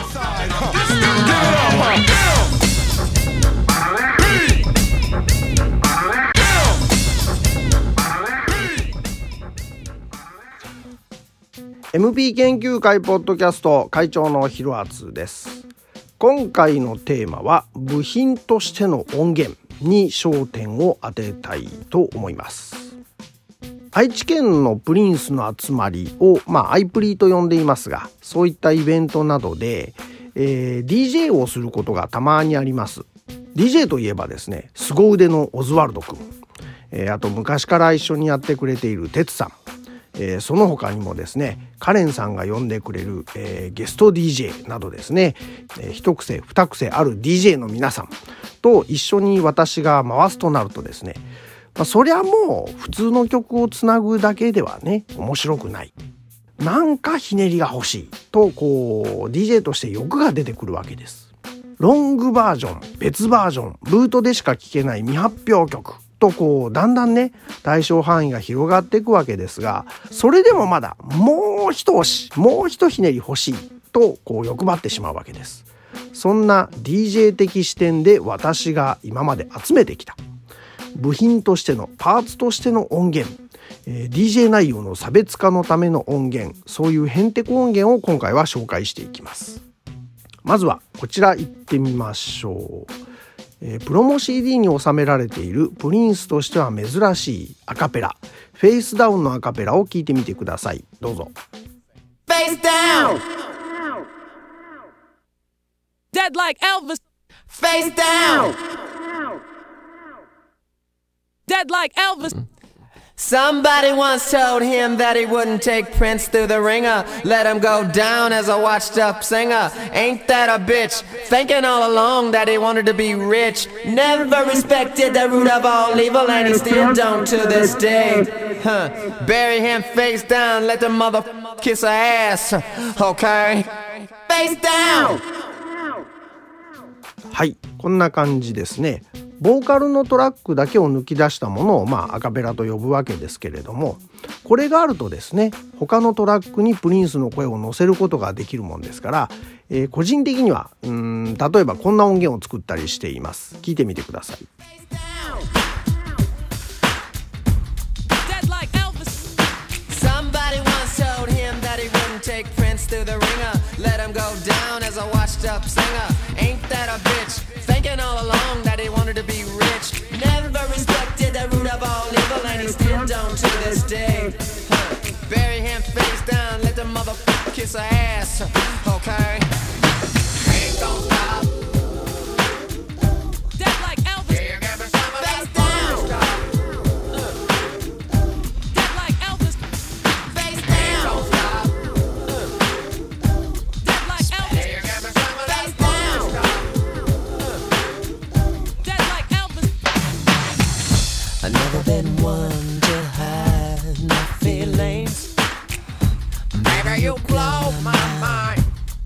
MP 研究会ポッドキャスト会長のひろあつです。今回のテーマは部品としての音源に焦点を当てたいと思います。愛知県のプリンスの集まりを、アイプリと呼んでいますが、そういったイベントなどで、DJ をすることがたまにあります。DJ といえばですね、凄腕のオズワルド君、あと昔から一緒にやってくれているテツさん、その他にもですね、カレンさんが呼んでくれる、ゲスト DJ などですね、一癖二癖ある DJ の皆さんと一緒に私が回すとなるとですね、そりゃもう普通の曲をつなぐだけではね面白くない、なんかひねりが欲しいとDJ として欲が出てくるわけです。ロングバージョン、別バージョン、ブートでしか聴けない未発表曲とだんだんね対象範囲が広がっていくわけですが、それでもまだもう一押し、もう一ひねり欲しいと欲張ってしまうわけです。そんな DJ 的視点で私が今まで集めてきた部品としてのパーツとしての音源、DJ 内容の差別化のための音源、そういうヘンテコ音源を今回は紹介していきます。まずはこちら行ってみましょう。プロモ CD に収められているプリンスとしては珍しいアカペラ、フェイスダウンのアカペラを聞いてみてください。どうぞ。 Face down, dead like Elvis. Face down, dead like Elvis. Somebody once told him that he wouldn't take Prince through the ringer, let him go down as a washed up singer. Ain't that a bitch, thinking all along that he wanted to be rich. Never respected the root of all evil, and he still don't to this day. Bury him face down, let the mother kiss her ass. Okay, face down. はい、こんな感じですね。ボーカルのトラックだけを抜き出したものをアカペラと呼ぶわけですけれども、これがあるとですね、他のトラックにプリンスの声を乗せることができるもんですから、個人的には例えばこんな音源を作ったりしています。聞いてみてください。 Take Prince through the ringer, let him go down as a washed up singer. Ain't that a bitch, thinking all along that he wanted to be rich. Never respected the root of all evil, and he still don't to this day. Bury him face down, let the mother kiss her ass. Okay, ain't gon' stop. Dead like Elvis. Yeah, give me some of that face down. Dead like Elvis. Face down. I've never been one to hide my feelings. Baby, you blow my mind.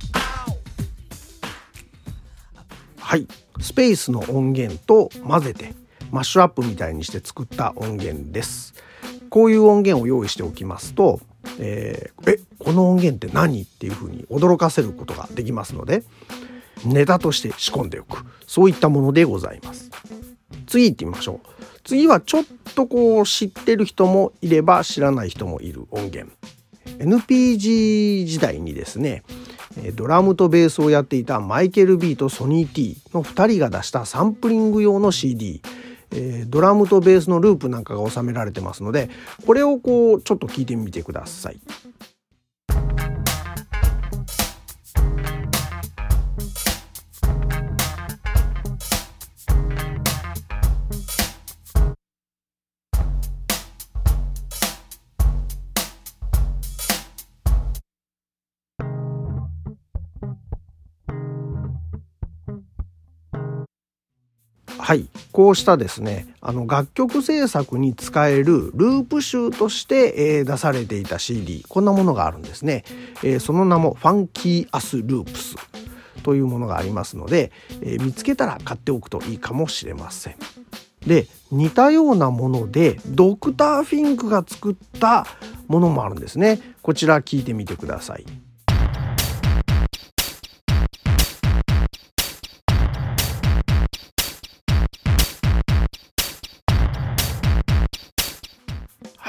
はい、スペースの音源と混ぜてマッシュアップみたいにして作った音源です。こういう音源を用意しておきますと、この音源って何っていうふうに驚かせることができますので、ネタとして仕込んでおく、そういったものでございます。次行ってみましょう。次はちょっと知ってる人もいれば知らない人もいる音源。NPG 時代にですね、ドラムとベースをやっていたマイケル B とソニー T の2人が出したサンプリング用の CD、ドラムとベースのループなんかが収められてますので、これをちょっと聞いてみてください。はい、こうしたですね、楽曲制作に使えるループ集として、出されていた CD、 こんなものがあるんですね。その名もファンキーアスループスというものがありますので、見つけたら買っておくといいかもしれません。で、似たようなものでドクターフィンクが作ったものもあるんですね。こちら聞いてみてください。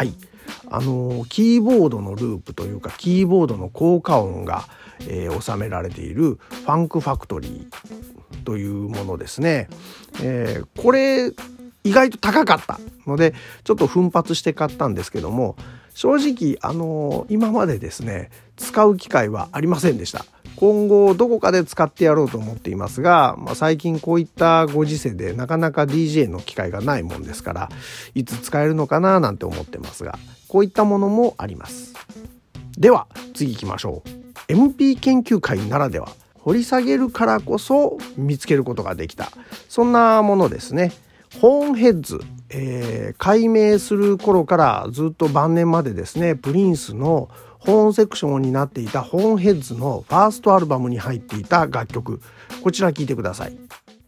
はい、キーボードのループというかキーボードの効果音が、収められているファンクファクトリーというものですね。これ意外と高かったのでちょっと奮発して買ったんですけども、正直今までですね使う機会はありませんでした。今後どこかで使ってやろうと思っていますが、最近こういったご時世でなかなか DJ の機会がないもんですから、いつ使えるのかななんて思ってますが、こういったものもあります。では次行きましょう。 MP 研究会ならでは、掘り下げるからこそ見つけることができた、そんなものですね。ホーンヘッズ、改名する頃からずっと晩年までですね、プリンスのホーンセクションになっていたホーンヘッズのファーストアルバムに入っていた楽曲、こちら聴いてください。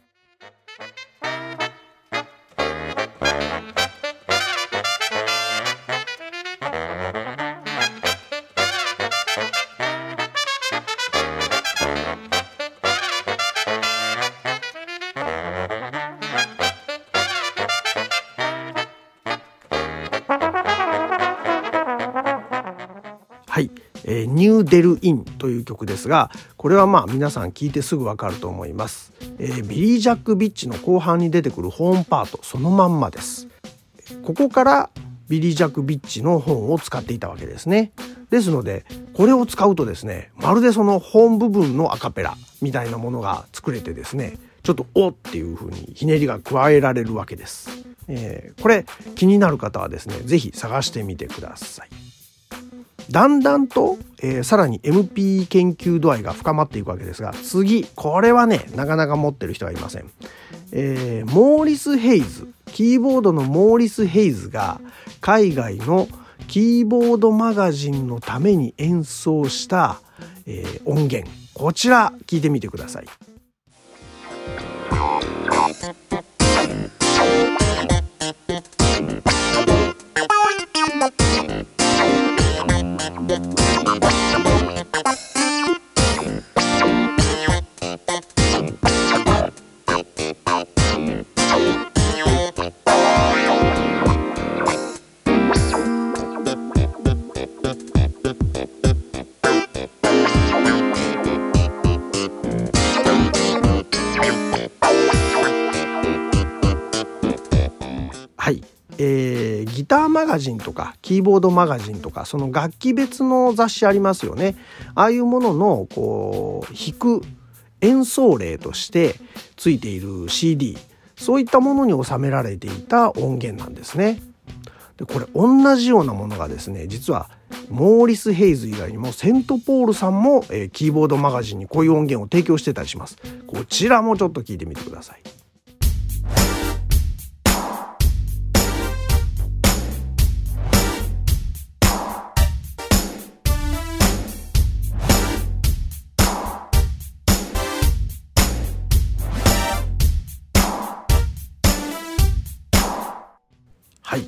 はい、ニューデルインという曲ですが、これは皆さん聞いてすぐわかると思います。ビリー・ジャック・ビッチの後半に出てくるホーンパートそのまんまです。ここからビリー・ジャック・ビッチのホーンを使っていたわけですね。ですのでこれを使うとですね、まるでそのホーン部分のアカペラみたいなものが作れてですね、ちょっとおっていう風にひねりが加えられるわけです。これ気になる方はですね、ぜひ探してみてください。だんだんと、さらに MP 研究度合いが深まっていくわけですが、次これはねなかなか持ってる人はいません。モーリス・ヘイズ、キーボードのモーリス・ヘイズが海外のキーボードマガジンのために演奏した、音源、こちら聞いてみてください。はい、ギターマガジンとかキーボードマガジンとか、その楽器別の雑誌ありますよね。ああいうもののこう弾く演奏例としてついている CD、 そういったものに収められていた音源なんですね。でこれ同じようなものがですね、実はモーリス・ヘイズ以外にもセントポールさんも、キーボードマガジンにこういう音源を提供してたりします。こちらもちょっと聞いてみてください。はい、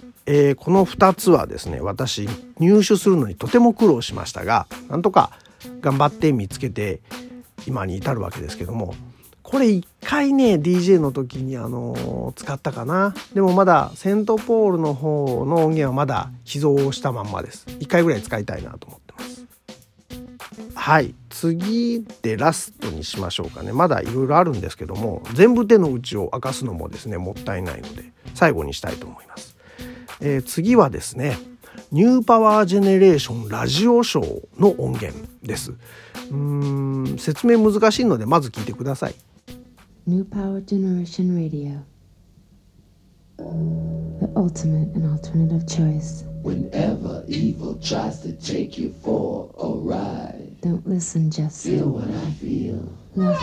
この2つはですね、私入手するのにとても苦労しましたが、なんとか頑張って見つけて今に至るわけですけども、これ一回ね DJ の時に使ったかな。でもまだセントポールの方の音源はまだ秘蔵したまんまです。一回ぐらい使いたいなと思ってます。はい、次でラストにしましょうかね。まだいろいろあるんですけども、全部手の内を明かすのもですねもったいないので最後にしたいと思います。次はですね、ニューパワージェネレーションラジオショーの音源です。説明難しいのでまず聞いてください。 New Power Generation Radio, the ultimate and alternative choice. Whenever evil tries to take you for a ride, Don't listen, just feel what I feel. love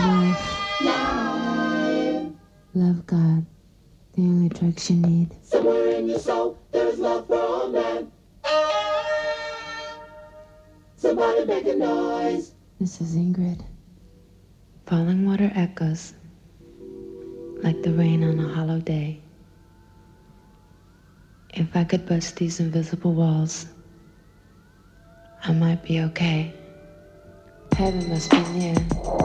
life, love God, the only drugs you need. Somewhere in your soul, there's love for all men. Somebody make a noise. This is Ingrid. Falling water echoes like the rain on a hollow day. If I could bust these invisible walls, I might be okay. Heaven must be near.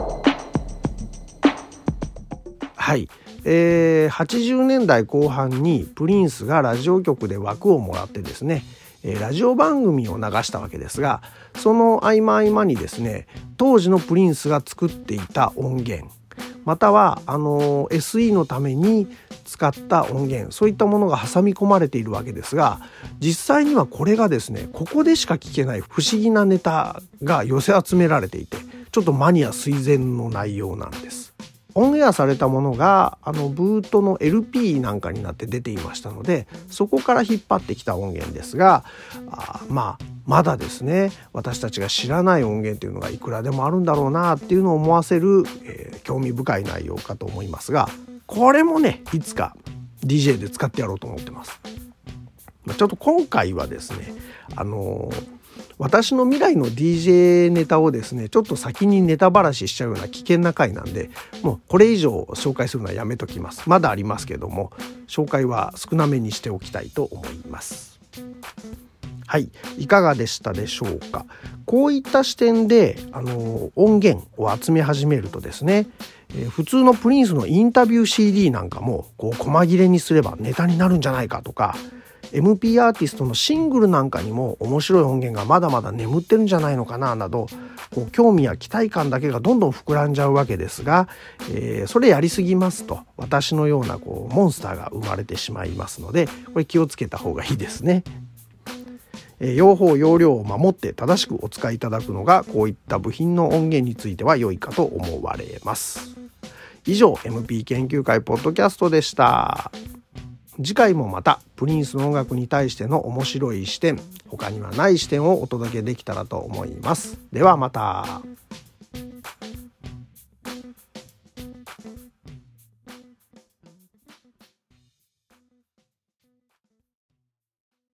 はい、80年代後半にプリンスがラジオ局で枠をもらってですね、 ラジオ番組を流したわけですが、その合間合間にですね、当時のプリンスが作っていた音源、またはSE のために使った音源、そういったものが挟み込まれているわけですが、実際にはこれがですね、ここでしか聞けない不思議なネタが寄せ集められていて、ちょっとマニア垂涎の内容なんです。オンエアされたものがブートの LP なんかになって出ていましたので、そこから引っ張ってきた音源ですが、まだですね、私たちが知らない音源というのがいくらでもあるんだろうなっていうのを思わせる、興味深い内容かと思いますが、これもね、いつか DJ で使ってやろうと思ってます。ちょっと今回はですね、私の未来の DJ ネタをですね、ちょっと先にネタばらししちゃうような危険な回なんで、もうこれ以上紹介するのはやめときます。まだありますけども、紹介は少なめにしておきたいと思います。はい、いかがでしたでしょうか。こういった視点で音源を集め始めるとですね、普通のプリンスのインタビュー CD なんかもこう細切れにすればネタになるんじゃないかとか、MP アーティストのシングルなんかにも面白い音源がまだまだ眠ってるんじゃないのかななど、こう興味や期待感だけがどんどん膨らんじゃうわけですが、それやりすぎますと私のようなモンスターが生まれてしまいますので、これ気をつけた方がいいですね。用法用量を守って正しくお使いいただくのが、こういった部品の音源については良いかと思われます。以上 MP 研究会ポッドキャストでした。次回もまたプリンスの音楽に対しての面白い視点、他にはない視点をお届けできたらと思います。ではまた。